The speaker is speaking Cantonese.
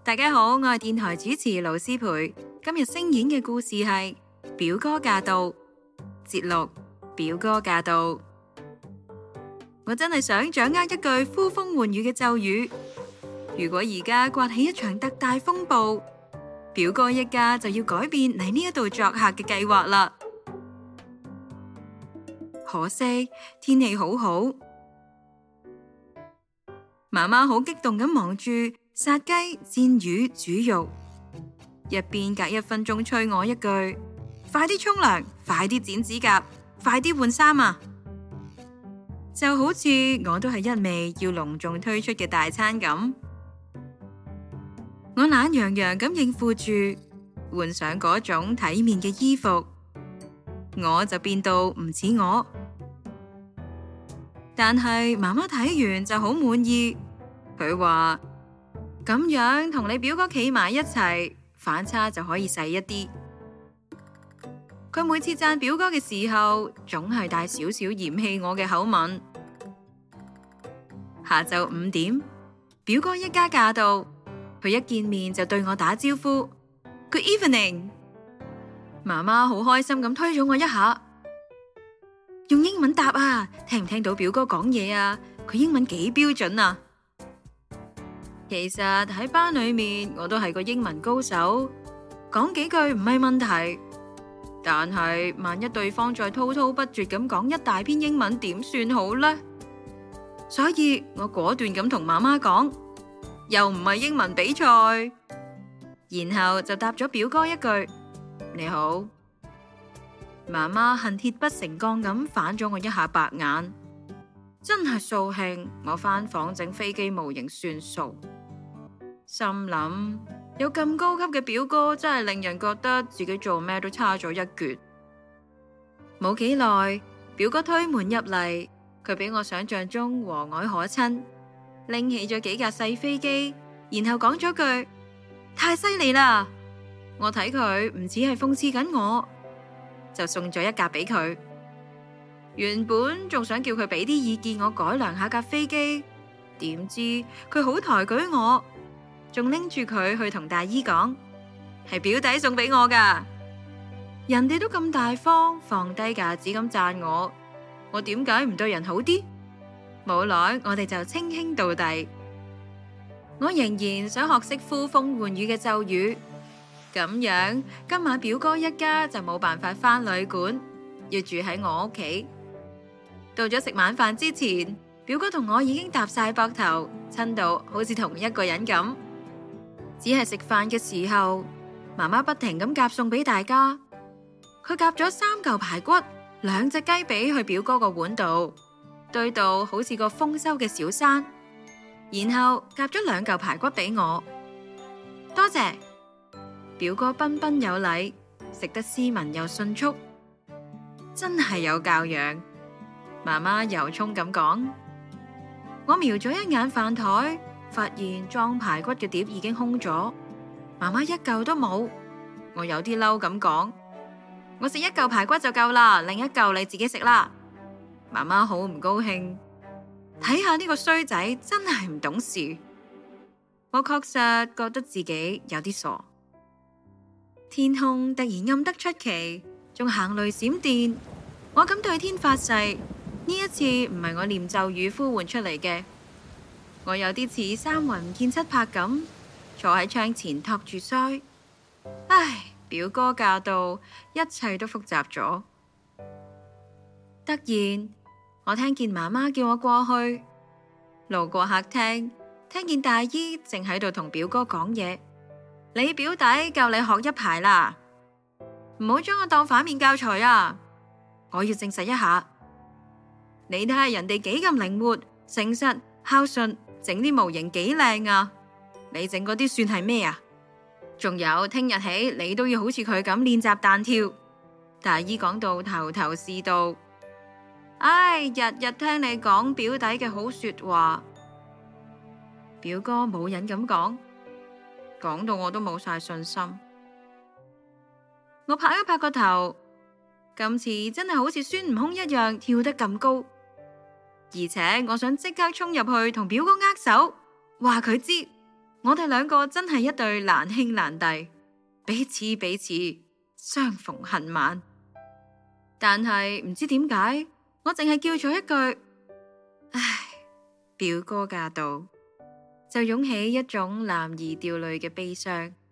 大家好，我係電台主持盧思培。今日聲演嘅故事係表哥駕到，節錄表哥駕到。我真係想掌握一句呼風喚雨嘅咒語。如果而家颳起一場特大風暴，表哥一家就要改變嚟呢一度作客嘅計劃啦。可惜天氣好好，媽媽好激動咁忙住殺雞、煎魚、煮肉，一邊隔一分鐘催我一句：快啲沖涼，快啲剪指甲，快啲換衫啊！就好似我都係一味要隆重推出嘅大餐咁。我懶洋洋咁應付住，換上嗰種體面嘅衣服，我就變到唔似我。但係媽媽睇完就好滿意，佢話咁樣同你表哥企埋一齊，反差就可以細一啲。佢每次讚表哥嘅時候，總係帶少少嫌棄我嘅口吻。下晝5點，表哥一家駕到，佢一見面就對我打招呼 Good evening。媽媽好開心咁推咗我一下，用英文答啊，聽唔聽到表哥講嘢啊？佢英文幾標準啊！其實喺班裏面我都係個英文高手，講幾句唔係問題。但係萬一對方再滔滔不絕咁講一大篇英文，點算好呢？所以我果斷咁同媽媽講，又唔係英文比賽，然後就答咗表哥一句你好。媽媽恨鐵不成鋼咁反咗我一下白眼，真係掃興。我返房整飛機模型算數。心諗有咁高級嘅表哥，真係令人覺得自己做咩都差咗一橛。冇幾耐，表哥推門入嚟，佢比我想象中和藹可親，拎起咗幾架細飛機，然後講咗句太犀利啦。我睇佢唔似係諷刺緊我，就送咗一架俾佢。原本仲想叫佢俾啲意見我改良下架飛機，點知佢好抬舉我，仲拎住佢去同大姨講，係表弟送俾我噶。人哋都咁大方，放低架子咁讚我點解唔對人好啲？冇耐我哋就稱兄道弟。我仍然想學識呼風喚雨嘅咒語，咁樣今晚表哥一家就冇辦法返旅館，要住喺我屋企。到咗食晚飯之前，表哥同我已經搭晒膊頭，親到好似同一個人咁。只係食飯嘅時候，媽媽不停咁夾餸俾大家。佢夾咗3嚿排骨、2隻雞髀去表哥個碗度，堆到好似個豐收嘅小山。然後夾咗2嚿排骨俾我，多謝。表哥彬彬有禮，食得斯文又迅速，真係有教養。媽媽由衷咁講。我瞄咗一眼飯台，發現裝排骨嘅碟已經空咗，媽媽一嚿都冇。我有啲嬲咁講，我食1嚿排骨就夠啦，另一嚿你自己食啦。媽媽好唔高興，睇下呢個衰仔真係唔懂事。我確實覺得自己有啲傻。天空突然暗得出奇，仲行雷閃電。我敢對天發誓，呢一次唔係我念咒語呼喚出嚟嘅。我有啲似三魂唔見七魄咁，坐喺窗前托住腮。唉，表哥駕到，一切都複雜咗。突然，我聽見媽媽叫我過去，路過客廳，聽見大姨正喺度同表哥講嘢。你表弟夠你學一排啦，唔好將我當反面教材啊！我要證實一下，你睇下人哋幾咁靈活、誠實、孝順，整啲模型幾靚啊！你整嗰啲算係咩啊？仲有聽日起你都要好似佢咁練習彈跳。大姨講到頭頭是道。唉，日日聽你講表弟嘅好說話。表哥冇癮咁講到我都冇晒信心。我拍一拍個頭，今次真係好似孫悟空一樣跳得咁高，而且我想即刻衝入去同表哥握手，話佢知我哋兩個真係一對難兄難弟，彼此相逢恨晚。但係唔知點解，我淨係叫咗一句唉，表哥駕到，就湧起一種男兒掉淚嘅悲傷。